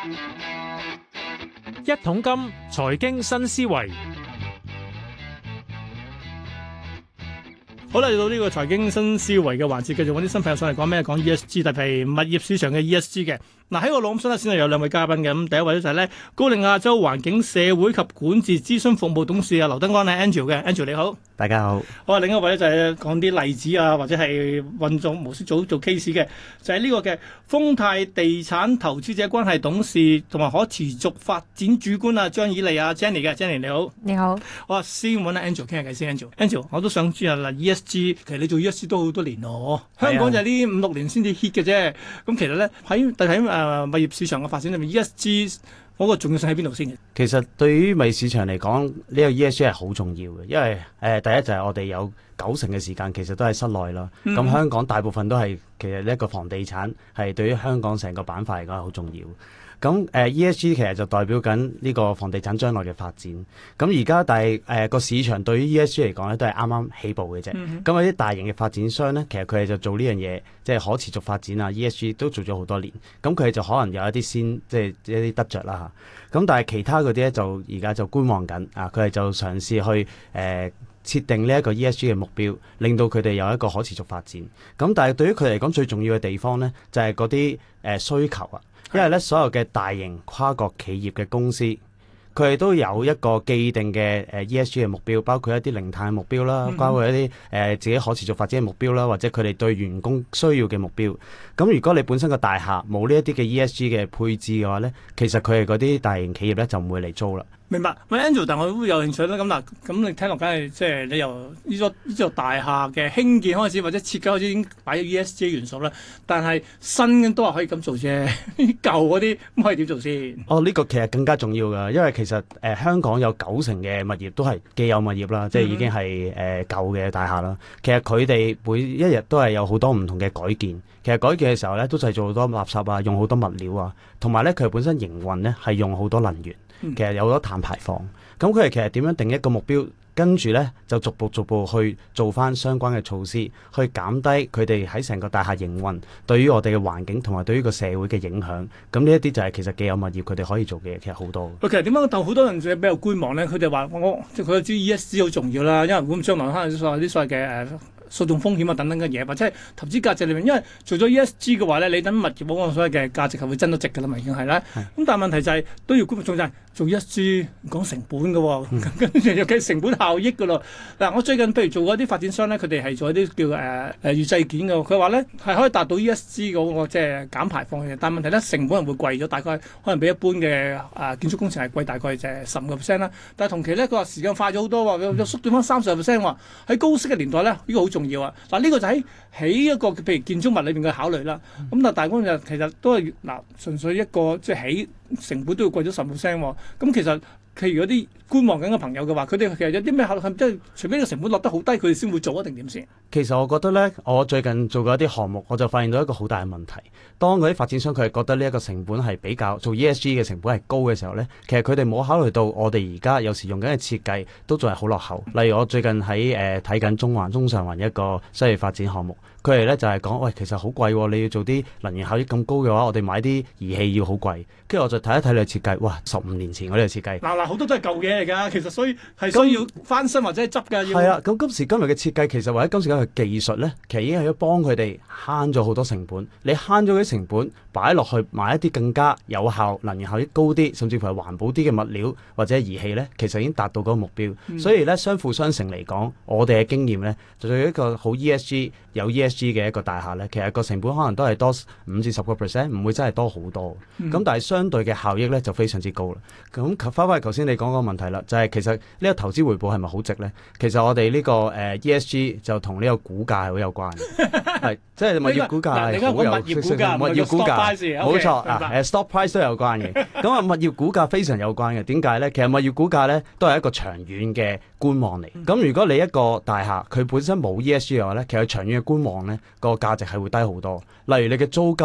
一桶金財經新思維， 好啦，嚟到呢個財經新思維嘅環節，繼續揾啲新朋友上嚟講咩？講 ESG，特別係物業市場嘅 ESG 嘅。嗱，喺我腦諗先係有兩位嘉賓嘅，咁第一位咧就係咧高瓴亞洲環境社會及管治諮詢服務董事劉德安係 Angel 嘅 Angel 你好。 大家好。 好啊，另一位咧就係講啲例子啊，或者係運作模式做 case 嘅，就係呢個嘅豐泰地產投資者關係董事同埋可持續發展主管啊張以莉啊 Jenny 嘅 Jenny 你好。 你好。 好啊，先揾阿 Angel 傾下偈先 Angel 我都想知啊嗱 ESG， 其實你做 ESG 都好多年咯，香港就係呢5-6年先至 hit 嘅啫。咁其實咧喺物業市場嘅發展裏面 ESG 嗰個重要性喺邊度先嘅？ 其實對於物業市場嚟講，呢個 ESG 係好重要嘅，因為第一就係我哋有90%嘅時間其實都喺室內啦。咁香港大部分都係其實呢一個房地產係對於香港成個板塊嚟講係好重要。咁ESG 其實就代表緊呢個房地產將來嘅發展。咁而家但係個市場對於 ESG 嚟講咧都係啱啱起步嘅啫。咁有啲大型嘅發展商咧，其實佢哋就做呢樣嘢，即係可持續發展啊 ESG 都做咗好多年。咁佢哋就可能有一啲即係一啲得着啦嚇。咁但係其他嗰啲咧就而家就觀望緊啊，佢哋就嘗試去設定呢一個 ESG 嘅目標，令到佢哋有一個可持續發展。咁但係對於佢嚟講最重要嘅地方咧，就係嗰啲需求啊。因為咧，所有嘅大型跨國企業嘅公司，佢哋都有一個既定嘅ESG 嘅目標，包括一啲零碳目標啦，包括一啲自己可持續發展嘅目標啦，或者佢哋對員工需要嘅目標。咁如果你本身個大廈冇呢一啲嘅 ESG 嘅配置嘅話咧，其實佢哋嗰啲大型企業咧就唔會嚟租啦。 明白，喂 Angel， 但我都有興趣啦。咁嗱，咁你聽落梗係即係你由呢座大廈嘅興建開始，或者設計開始已經擺咗 ESG 元素啦。但係新嘅都話可以咁做啫，舊嗰啲咁可以點做先？ 呢個其實更加重要㗎，因為其實香港有90%嘅物業都係既有物業啦，即係已經係舊嘅大廈啦。其實佢哋每一日都係有好多唔同嘅改建。其實改建嘅時候咧，都製造好多垃圾啊，用好多物料啊，同埋咧佢本身營運咧係用好多能源，其實有好多碳排放。咁佢哋其實點樣定一個目標，跟住咧就逐步去做翻相關嘅措施，去減低佢哋喺成個大廈營運對於我哋嘅環境同埋對於個社會嘅影響。咁呢一啲就係其實既有物業佢哋可以做嘅嘢，其實好多。 其實點解但好多人比較觀望咧？佢哋話即係佢知 ESG 好重要啦，因為咁將來可能啲所謂嘅訴訟風險啊等等嘅嘢，或者係投資價值裏面，因為做咗 ESG 嘅話咧，你等物業嗰個所謂嘅價值係會增到值㗎啦嘛，已經係啦。咁但係問題就係都要觀眾就係做 ESG 講成本嘅喎，跟住又計成本效益㗎咯。嗱，我最近譬如做過一啲發展商咧，佢哋係做一啲叫預製件嘅，佢話咧係可以達到 ESG 嗰個即係減排放嘅，但係問題咧成本係會貴咗，大概可能比一般嘅建築工程係貴大概就係15%啦。但係同期咧佢話時間快咗好多喎，又縮短翻30%喎。喺高息嘅年代咧，呢個好重要啊！嗱，呢個就喺起一個譬如建築物裏邊嘅考慮啦。咁但係大公就其實都係純粹一個即係起成本都要貴咗10%喎。咁其實譬如嗰啲觀望緊嘅朋友嘅話，佢哋其實有啲咩考慮？即係除非個成本落得好低，佢哋先會做一定點先？ 其實我覺得咧，我最近做過一啲項目，我就發現到一個好大嘅問題。當嗰啲發展商佢係覺得呢一個成本係比較做 ESG 嘅成本係高嘅時候咧，其實佢哋冇考慮到我哋而家有時用緊嘅設計都仲係好落後。例如我最近喺睇緊中上環一個商業發展項目，佢哋咧就係講，喂，其實好貴喎，你要做啲能源效益咁高嘅話，我哋買啲儀器要好貴。跟住我就睇一睇你嘅設計，哇，15年前嗰啲嘅設計。 嗱，好多都係舊嘢嚟㗎，其實所以係需要翻新或者係執㗎。 係啦，咁今時今日嘅設計其實或者今時今日嘅技術咧，其實已經係要幫佢哋慳咗好多成本。你慳咗啲成本，擺落去買一啲更加有效、能源效益高啲，甚至乎係環保啲嘅物料或者儀器咧，其實已經達到嗰個目標。所以咧，相輔相成嚟講，我哋嘅經驗咧，就做一個好 ESG 有 ESG 嘅一個大廈咧，其實個成本可能都係多5至10%，唔會真係多好多。咁但係相對嘅效益咧就非常之高啦。咁翻返去頭先你講嗰個問題啦，就係其實呢個投資回報係咪好值咧？其實我哋呢個ESG 就同呢個股價係好有關嘅，係即係物業股價係好有物業股價冇錯啊，stock price 都有關嘅。咁啊，物業股價非常有關嘅。點解咧？其實物業股價咧都係一個長遠嘅觀望嚟。咁如果你一個大廈佢本身冇 ESG 嘅話咧，其實長遠嘅觀望咧個價值係會低好多。例如你嘅租金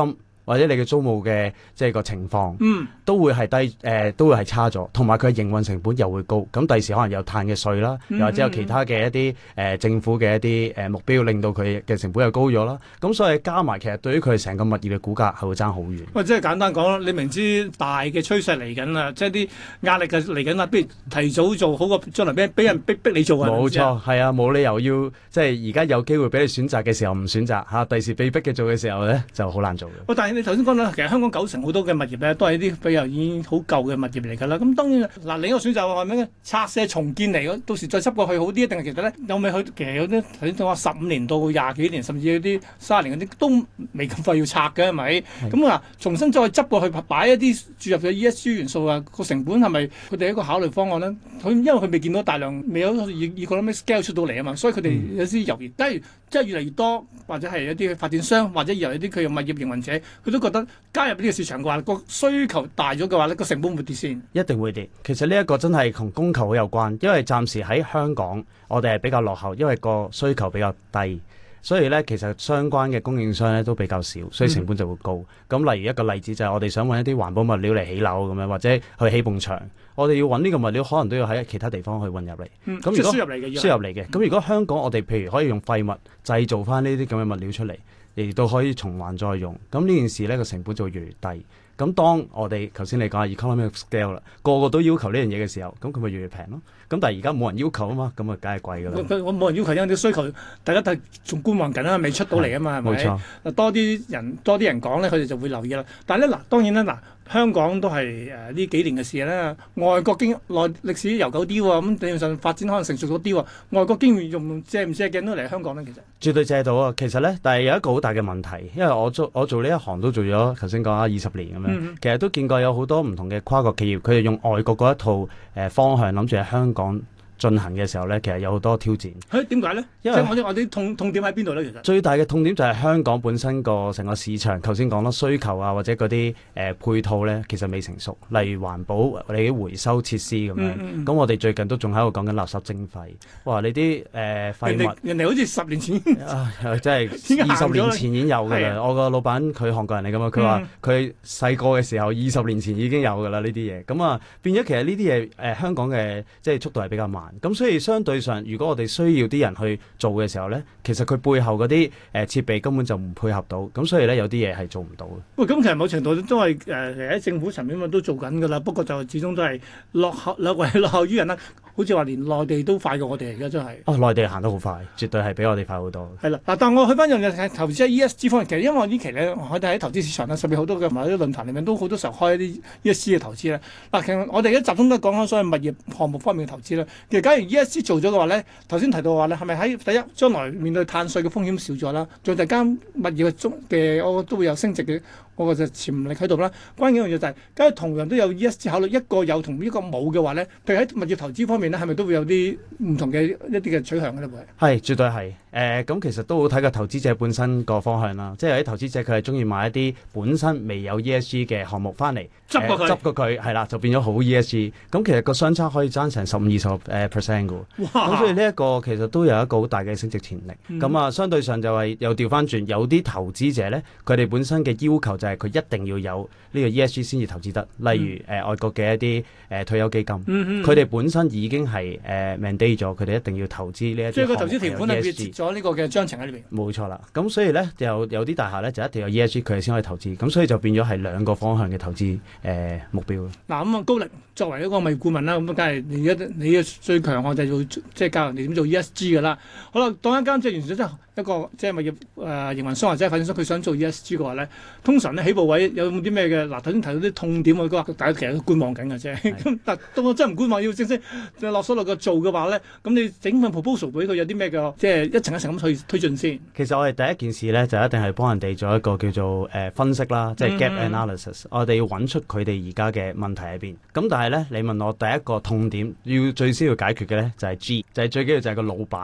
或者你嘅租務嘅即係個情況， 嗯， 都會係都會係差咗，同埋佢嘅營運成本又會高。咁第時可能有碳嘅稅啦，又或者有其他嘅一啲政府嘅一啲目標，令到佢嘅成本又高咗啦。咁所以加埋，其實對於佢成個物業嘅股價係會爭好遠。 喂，即係簡單講，你明知大嘅趨勢嚟緊啦，即係啲壓力嘅嚟緊啦，不如提早做好過將來俾人逼你做啊！ 冇錯，係啊，冇理由要即係而家有機會俾你選擇嘅時候唔選擇嚇，第時被逼嘅做嘅時候咧就好難做嘅。 喂，但係你頭先講啦，其實香港90%好多嘅物業咧，都係啲比較已經好舊嘅物業嚟㗎啦。咁當然嗱，另一個選擇係咩咧？拆卸重建嚟嘅，到時再執過去好啲，定係其實咧有未去？其實有啲頭先講話15年到20幾年，甚至有啲30年嗰啲都未咁快要拆嘅，係咪？咁啊，重新再執過去擺一啲注入嘅 ESG 元素啊，個成本係咪佢哋一個考慮方案咧？因為佢未見到大量，未有economic scale 出到嚟啊嘛，所以佢哋有啲猶豫。假如即係越嚟越多，或者係一啲發展商，或者由一啲佢嘅物業營運者，佢都覺得加入呢個市場嘅話，個需求大咗嘅話咧，個成本會跌先。 一定會跌。其實呢一個真係同供求好有關，因為暫時喺香港我哋係比較落後，因為個需求比較低。所以咧，其實相關嘅供應商咧都比較少，所以成本就會高。咁例如一個例子就係我哋想揾一啲環保物料嚟起樓咁樣，或者去起埲牆，我哋要揾呢個物料，可能都要喺其他地方去運入嚟。咁如果輸入嚟嘅， 輸入嚟嘅。咁如果香港我哋譬如可以用廢物製造翻呢啲咁嘅物料出嚟，亦都可以重還再用，咁呢件事咧個成本就會越嚟越低。咁當我哋頭先你講 economic scale 啦，個個都要求呢樣嘢嘅時候，咁佢咪越嚟越平咯。咁但係而家冇人要求啊嘛，咁啊梗係貴㗎啦。 我冇人要求，因為啲需求大家都係仲觀望緊啊，未出到嚟啊嘛，係咪？ 冇錯。 多啲人講咧，佢哋就會留意啦。但係咧嗱，當然啦嗱，香港都係呢幾年嘅事啦。外國歷史悠久啲喎，咁理論上發展可能成熟咗啲喎。外國經驗借唔借鏡都嚟香港咧？其實絕對借到啊！其實咧，但係有一個好大嘅問題，因為我做呢一行都做咗頭先講啦20年咁樣，其實都見過有好多唔同嘅跨國企業，佢哋用外國嗰一套方向諗住喺香港進行嘅時候咧，其實有好多挑戰。 點解咧？因為我啲痛點喺邊度咧？其實最大嘅痛點就係香港本身個成個市場，頭先講啦，需求啊或者嗰啲配套咧，其實未成熟。例如環保，我哋啲回收設施咁樣。咁我哋最近都仲喺度講緊垃圾徵費。哇！你啲廢物人哋好似10年前真係20年前已經有㗎啦。我個老闆佢韓國人嚟㗎嘛，佢話佢細個嘅時候20年前已經有㗎啦呢啲嘢。咁啊變咗其實呢啲嘢香港嘅即係速度係比較慢。咁所以相對上，如果我哋需要啲人去做嘅時候咧，其實佢背後嗰啲設備根本就唔配合到，咁所以咧有啲嘢係做唔到嘅。 喂，咁其實某程度都係喺政府層面都做緊㗎啦，不過就始終都係落後於人啦。好似話連內地都快過我哋而家真係。 哦，內地行得好快，絕對係比我哋快好多。 係啦，嗱，但我去翻樣嘢投資喺 ESG 方面，其實因為呢期咧，我哋喺投資市場啦，甚至好多嘅同埋啲論壇裏面都好多時候開一啲 ESG 嘅投資咧。嗱，其實我哋而家集中都講緊所謂物業項目方面嘅投資啦。其實假如 ESG 做咗嘅話咧，頭先提到嘅話咧，係咪喺第一將來面對碳稅嘅風險少咗啦？再第間物業嘅我都會有升值嘅，我就潛力喺度啦。關鍵一樣嘢就係，假如同樣都有 ESG 考慮，一個有同一個冇嘅話咧，譬如喺物業投資方面咧，係咪都會有啲唔同嘅一啲嘅取向嘅咧？ 係，絕對係。咁其實都好睇個投資者本身個方向啦。即係有啲投資者佢係中意買一啲本身未有 ESG 嘅項目翻嚟，執過佢係啦，就變咗好 ESG。咁其實個相差可以爭成15-20%嘅。咁所以呢一個其實都有一個好大嘅升值潛力。咁相對上就係又調翻轉，有啲投資者咧，佢哋本身嘅要求就係佢一定要有呢個 ESG 先至投資得。例如外國嘅一啲退休基金，佢哋本身已經係mandate 咗，佢哋一定要投資呢一啲項目。即係個投資條款係列咗呢個嘅章程喺裏邊。冇錯啦。咁所以咧有啲大廈咧就一定要有 ESG，佢哋先可以投資。咁所以就變咗係兩個方向嘅投資目標。嗱咁高力作為一個物業顧問啦，咁梗係你嘅最強項就係做即係教人哋點做 ESG 㗎啦。好啦，當一間即係完全真係一個即係物業營運商或者係發展商，佢想做 ESG 嘅話咧，通常咧起步位有冇啲咩嘅？嗱頭先提到啲痛點，我覺得大家其實都觀望緊嘅啫。咁但到我真係唔觀望，要正式落手落腳做嘅話咧，咁你整份 proposal 俾佢有啲咩嘅？即係一層一層咁去推進先。其實我哋第一件事咧就一定係幫人哋做一個叫做分析啦，即係 gap analysis。我哋要揾出佢哋而家嘅問題喺邊。咁但係咧，你問我第一個痛點要最先要解決嘅咧就係 G，就係最緊要就係個老闆。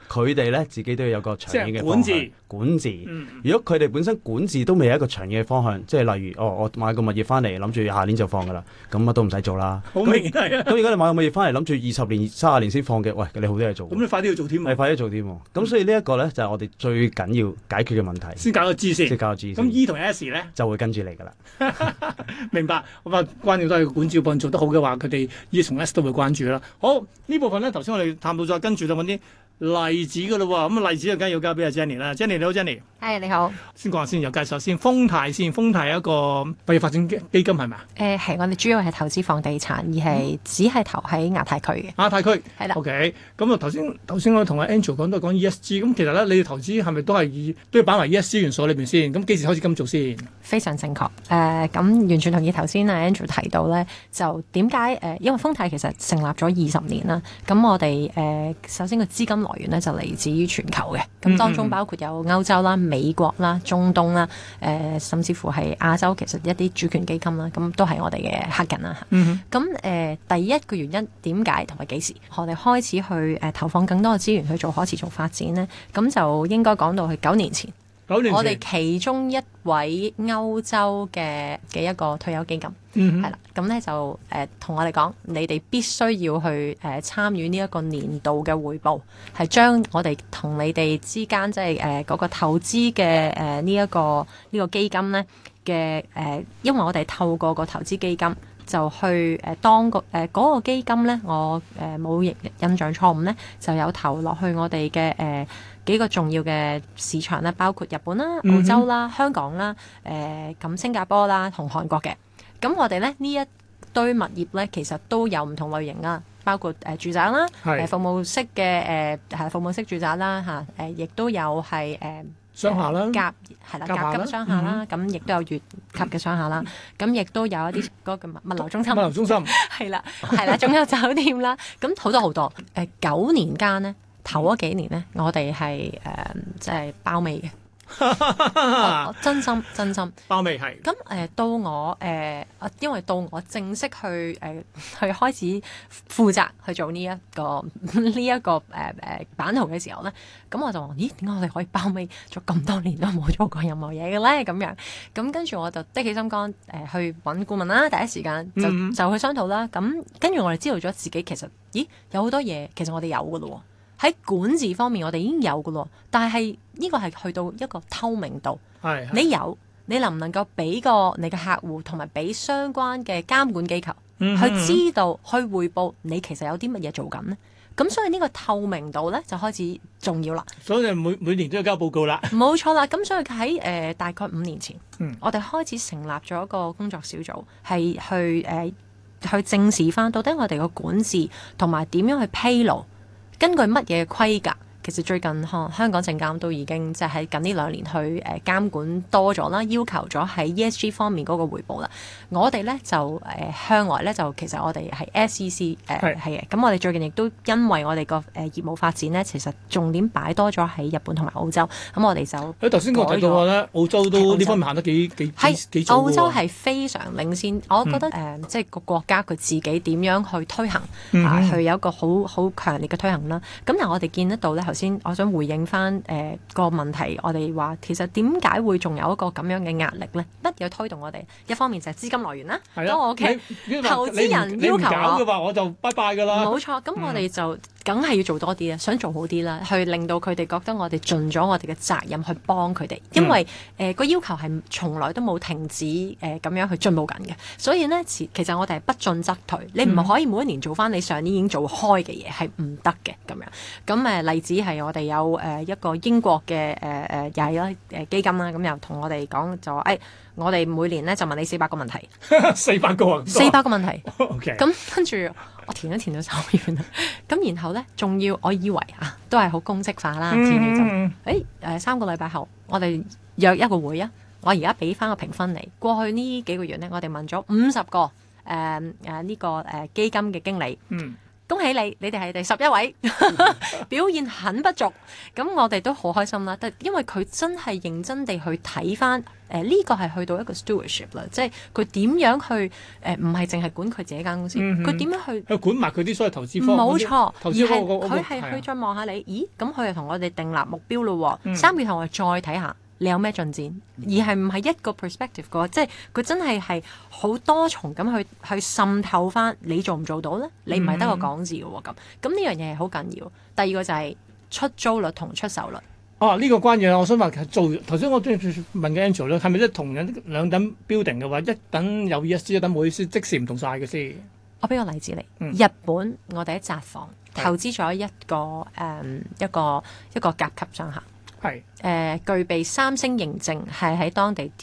佢哋咧自己都要有個長遠嘅管治。 管治，如果佢哋本身管治都未有一個長遠嘅方向，即係例如我買個物業翻嚟，諗住下年就放噶啦，咁乜都唔使做啦。 好明顯係啊。 咁如果你買個物業翻嚟，諗住20年、30年先放嘅，喂，你好多嘢做。 咁你快啲要做添。 係快啲做添。咁所以呢一個咧就係我哋最緊要解決嘅問題。 先搞個 G 先。 先搞個 G 先。 咁 E 同 S 咧就會跟住嚟噶啦。 明白。咁啊，關鍵都係管治部做得好嘅話，佢哋 E 同 S 都會關注啦。好，呢部分咧，頭先我哋探討咗，跟住就揾啲例子噶啦喎。咁啊，例子就梗係要交俾阿 Jenny 啦。Jenny 你好，Jenny。 係你好。 先講下先，由介紹先。豐泰先，豐泰係一個物業發展基金係咪啊？ 係我哋主要係投資房地產，而係只係投喺亞太區嘅。 亞太區係啦。 OK。咁啊，頭先我同阿 Angel 講都係講 ESG。咁其實咧，你哋投資係咪都要擺埋 ESG 元素裏邊先？咁幾時開始咁做先？ 非常正確。咁完全同意頭先阿 Andrew 提到咧，就點解因為豐泰其實成立咗20年啦。咁我哋首先個資金來源咧就嚟自於全球嘅。咁當中包括有歐洲啦、美國啦、中東啦，甚至乎係亞洲，其實一啲主權基金啦，咁都係我哋嘅客人啦。咁第一個原因點解同埋幾時我哋開始去投放更多嘅資源去做可持續發展呢？咁就應該講到去9年前。我哋其中一位歐洲嘅一個退休基金，係啦，咁咧就同我哋講，你哋必須要去參與呢一個年度嘅匯報，係將我哋同你哋之間即係嗰個投資嘅呢個基金咧嘅因為我哋透過個投資基金就去當嗰個基金咧，我冇印象錯誤咧，就有投落去我哋嘅幾個重要嘅市場咧，包括日本啦、澳洲啦、香港啦、咁新加坡啦同韓國嘅。咁我哋咧呢一堆物業咧，其實都有唔同類型啦，包括住宅啦、服務式嘅服務式住宅啦嚇，亦都有係商廈啦， 甲級商廈啦，咁亦都有乙級嘅商廈啦，咁亦都有一啲嗰個物流中心，係啦，仲有酒店啦，咁好多好多。9年間咧，頭嗰幾年咧，我哋係即係包尾嘅。真心包尾係咁到我因為到我正式去開始負責去做呢一個版圖嘅時候咧，咁我就話：咦，點解我哋可以包尾咗咁多年都冇做過任何嘢嘅咧？咁樣咁跟住我就的起心肝去揾顧問啦，第一時間就去商討啦。咁跟住我哋知道咗自己其實有好多嘢其實我哋有㗎咯喎。喺管治方面，我哋已經有㗎咯，但係呢個係去到一個透明度。你能唔能夠俾個你嘅客戶同埋俾相關嘅監管機構去知道去匯報你其實有啲乜嘢做緊呢？咁所以呢個透明度咧就開始重要啦。所以每年都要交報告啦。 冇錯啦。咁所以喺大概5年前，我哋開始成立咗一個工作小組，係去正視翻到底我哋個管治同埋點樣去披露。根據乜嘢規格？其實最近香港證監都已經即係喺近呢2年去監管多咗啦，要求咗喺 ESG 方面嗰個回報啦。我哋咧就向外咧就其實我哋係 SEC 係嘅。咁我哋最近亦都因為我哋個業務發展咧，其實重點擺多咗喺日本同埋澳洲。咁我哋就頭先我提到話咧，澳洲都呢方面行得幾早。 澳洲係非常領先，我覺得即係個國家佢自己點樣去推行去有一個好強烈嘅推行啦。咁但係我哋見得到咧。先，我想回應翻個問題，我哋話其實點解會仲有一個咁樣嘅壓力咧？乜嘢推動我哋？一方面就係資金來源啦，當我屋企投資人要求搞嘅話，我就拜拜㗎啦。 冇錯，咁我哋就梗係要做多啲啦，想做好啲啦，去令到佢哋覺得我哋盡咗我哋嘅責任去幫佢哋，因為個要求係從來都冇停止咁樣去進步緊嘅，所以呢，其實我哋係不進則退，你唔可以每一年做翻你上年已經做開嘅嘢，係唔得嘅咁樣。咁例子係我哋有一個英國嘅又係基金啦，咁又同我哋講就話我哋每年咧就問你400個問題 ，400個 400個問題。 OK， 咁跟住我填到手軟啦。咁然後咧，仲要我以為都係好公式化啦，填完就3個禮拜後，我哋約一個會啊。我而家俾翻個評分你。過去呢幾個月咧，我哋問咗50個呢個基金嘅經理。恭喜你，你哋係第11位，表現很不俗。咁我哋都好開心啦，因為佢真係認真地去睇翻呢個係去到一個 stewardship 啦，即係佢點樣去唔係淨係管佢自己間公司，佢點樣去管埋佢啲所謂投資方， 冇錯， 投資方佢係去再望下你，咦？咁佢又同我哋訂立目標咯喎，3個月後我哋再睇下。你有咩進展？而係唔係一個 perspective 嘅，即係佢真係好多重咁去滲透翻你做唔做到咧？你唔係得個講字嘅喎，咁呢樣嘢係好緊要。第二個就係出租率同出售率。 哦，呢個關鍵我想話做頭先我都問嘅 Angel 咧，係咪即係同樣兩等 building 嘅話，一等有 ESG，一等冇 ESG，即時唔同晒嘅先？ 我俾個例子你，日本我哋喺札幌投資咗一個甲級商客。 係具備3星認證，係喺當地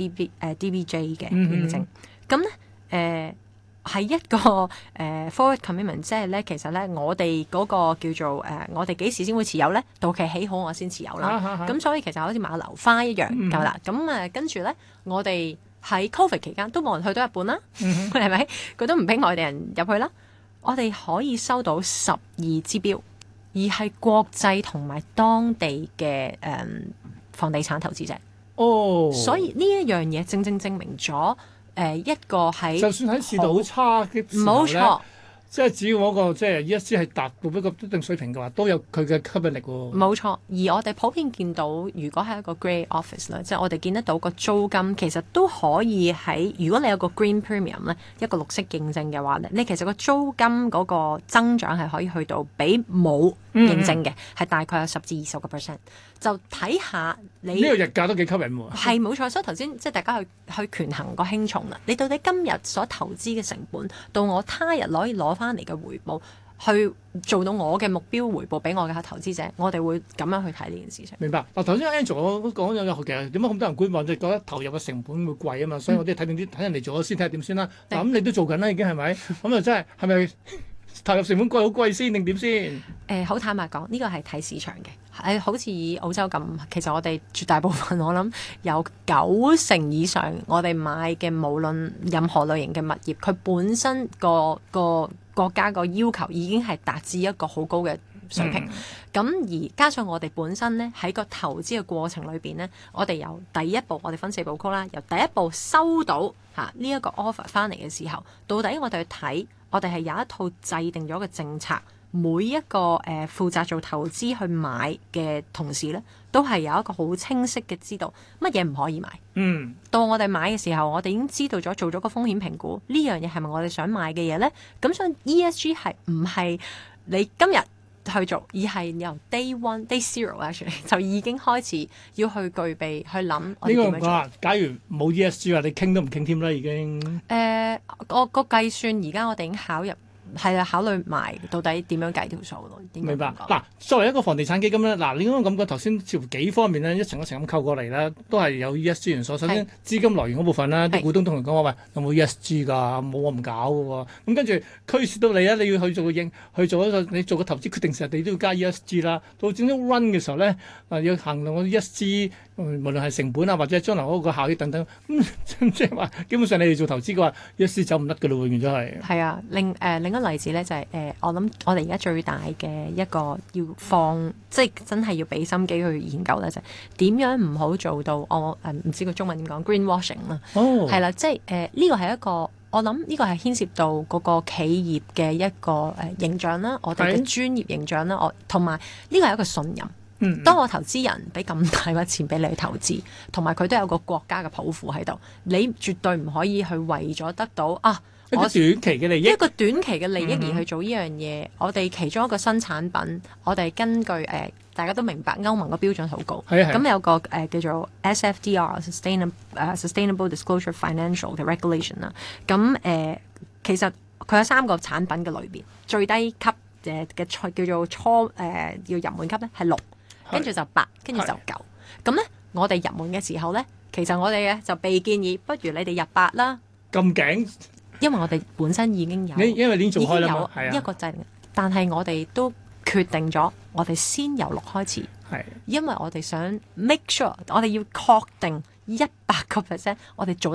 DBJ 嘅認證。咁咧係一個forward commitment，即係咧其實咧我哋嗰個叫做我哋幾時先會持有咧？到期起好我先持有啦。咁所以其實好似買樓花一樣夠啦。咁跟住咧，我哋喺 Covid 期間都冇人去到日本啦，係咪？佢都唔俾外地人入去啦。我哋可以收到12支標。而係國際同埋當地嘅房地產投資者，所以呢一樣嘢正正證明咗一個喺就算喺市道好差嘅時候咧， 冇錯， 即係只要嗰個即係 ESG 係達到一個一定水平嘅話，都有佢嘅吸引力喎。 冇錯，而我哋普遍見到，如果係一個 grey office 咧，即係我哋見得到個租金其實都可以喺，如果你有個 green premium 咧，一個綠色認證嘅話咧，你其實個租金嗰個增長係可以去到比冇認證嘅係大概有10至20%，就睇下你呢個日價都幾吸引喎。 係冇錯，所以頭先即係大家去權衡個輕重啦。你到底今日所投資嘅成本，到我他日可以攞翻嚟嘅回報，去做到我嘅目標回報俾我嘅投資者，我哋會咁樣去睇呢件事情。 明白。嗱，頭先 Angel 我都講咗，其實點解咁多人觀望，就覺得投入嘅成本會貴啊嘛，所以我哋睇定啲睇人哋做咗先，睇下點先啦。嗱，咁你都做緊啦，已經係咪？咁啊真係咪？投入成本貴好貴先定點先？ 好坦白講，呢個係睇市場嘅。好似以澳洲咁，其實我哋絕大部分我諗有90%以上，我哋買嘅無論任何類型嘅物業，佢本身個國家個要求已經係達至一個好高嘅水平。咁而加上我哋本身咧喺個投資嘅過程裏邊咧，我哋由第一步，我哋分4部曲啦，由第一步收到呢一個 offer 翻嚟嘅時候，到底我哋去睇。我哋係有一套制定咗嘅政策，每一個負責做投資去買嘅同事咧，都係有一個好清晰嘅知道乜嘢唔可以買。到我哋買嘅時候，我哋已經知道咗做咗個風險評估，呢樣嘢係咪我哋想買嘅嘢咧？咁所以 ESG 係唔係你今日去做，而係由 day 0 actually 就已經開始要去具備去諗我哋點樣做。 假如冇 ESG 啊，你傾都唔傾添啦，已經。 個計算而家我哋已經考慮埋到底點樣計條數咯。 明白。嗱，作為一個房地產基金咧，嗱，你咁講頭先似乎幾方面咧，一層一層咁扣過嚟啦，都係有 ESG 元素。首先資金來源嗰部分啦，啲股東同佢講話，喂，有冇 ESG 㗎？冇我唔搞嘅喎。咁跟住驅使到你啊，你要去做你做個投資決定時，你都要加 ESG 啦。到整咗 run 嘅時候咧，要衡量個 ESG，無論係成本啊，或者將來嗰個效益等等。即係話，基本上你哋做投資嘅話 ，ESG 走唔甩㗎咯，永遠都係。係啊， 另一個例子咧就係我諗我哋而家最大嘅一個要放，即係真係要俾心機去研究咧，就係點樣唔好做到我唔知個中文點講 greenwashing 啦。係啦，即係呢個係一個我諗呢個係牽涉到嗰個企業嘅一個形象啦，我哋嘅專業形象啦，同埋呢個係一個信任。當我投資人俾咁大筆錢俾你去投資，同埋佢都有個國家嘅抱負喺度，你絕對唔可以去為咗得到一個短期嘅利益， 一個短期嘅利益而去做呢樣嘢。我哋其中一個新產品，我哋根據大家都明白歐盟個標準好高，咁有個叫做 SFDR Sustainable Disclosure Financial 嘅 regulation 啦。咁其實佢有3個產品嘅類別，最低級嘅叫做要入門級咧係6，跟住就8，跟住就9。咁咧我哋入門嘅時候咧，其實我哋就被建議，不如你哋入8啦。 咁勁！因為我哋本身已經有， 因為已經做開啦嘛， 有一個制定，但係我哋都決定咗，我哋先由6開始，因為我哋想 make sure，我哋要確定100%，我哋做得到，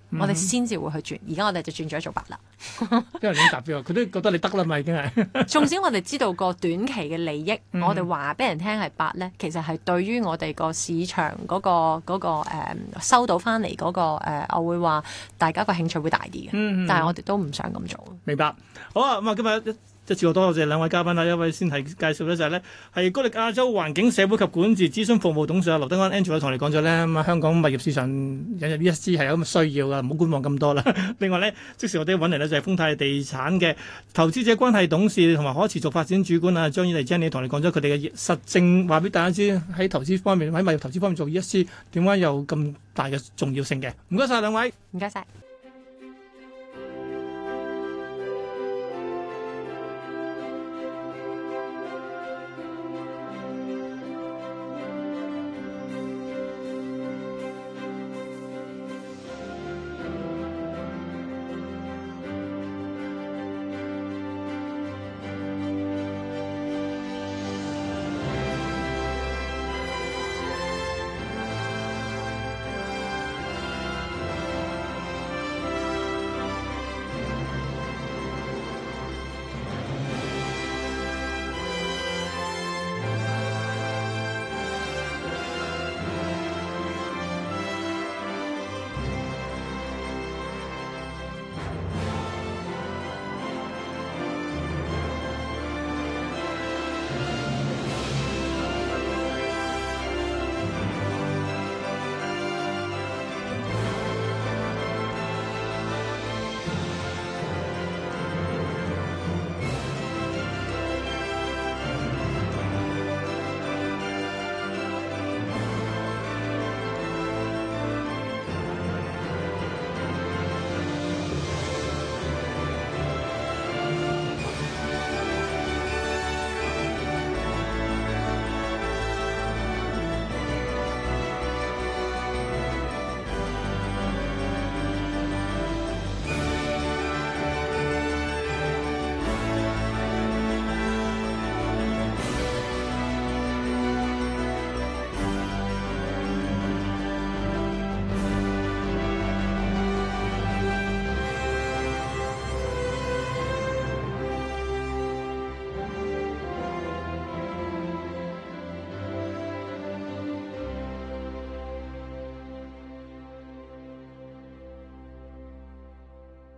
我哋先至會去轉。而家我哋就轉咗做白啦。 因為你達標，佢都覺得你得啦嘛，已經係。 縱使我哋知道個短期嘅利益，我哋話俾人聽係白咧，其實係對於我哋個市場嗰個收到翻嚟嗰個我會話大家個興趣會大啲嘅。但係我哋都唔想咁做。 明白。好啊，咁啊，今日一次過多謝兩位嘉賓啦，一位先係介紹咧就係咧係高力亞洲環境社會及管治諮詢服務董事劉德安 Andrew 同你講咗咧，咁啊香港物業市場引入 ESG 係有咁嘅需要噶，唔好觀望咁多啦。另外咧，即時我哋揾嚟咧就係豐泰地產嘅投資者關係董事同埋可持續發展主管啊張婉妮 Jenny 同你講咗佢哋嘅實證，話俾大家知喺投資方面喺物業投資方面做 ESG 點解有咁大嘅重要性嘅。唔該晒兩位， 唔該晒。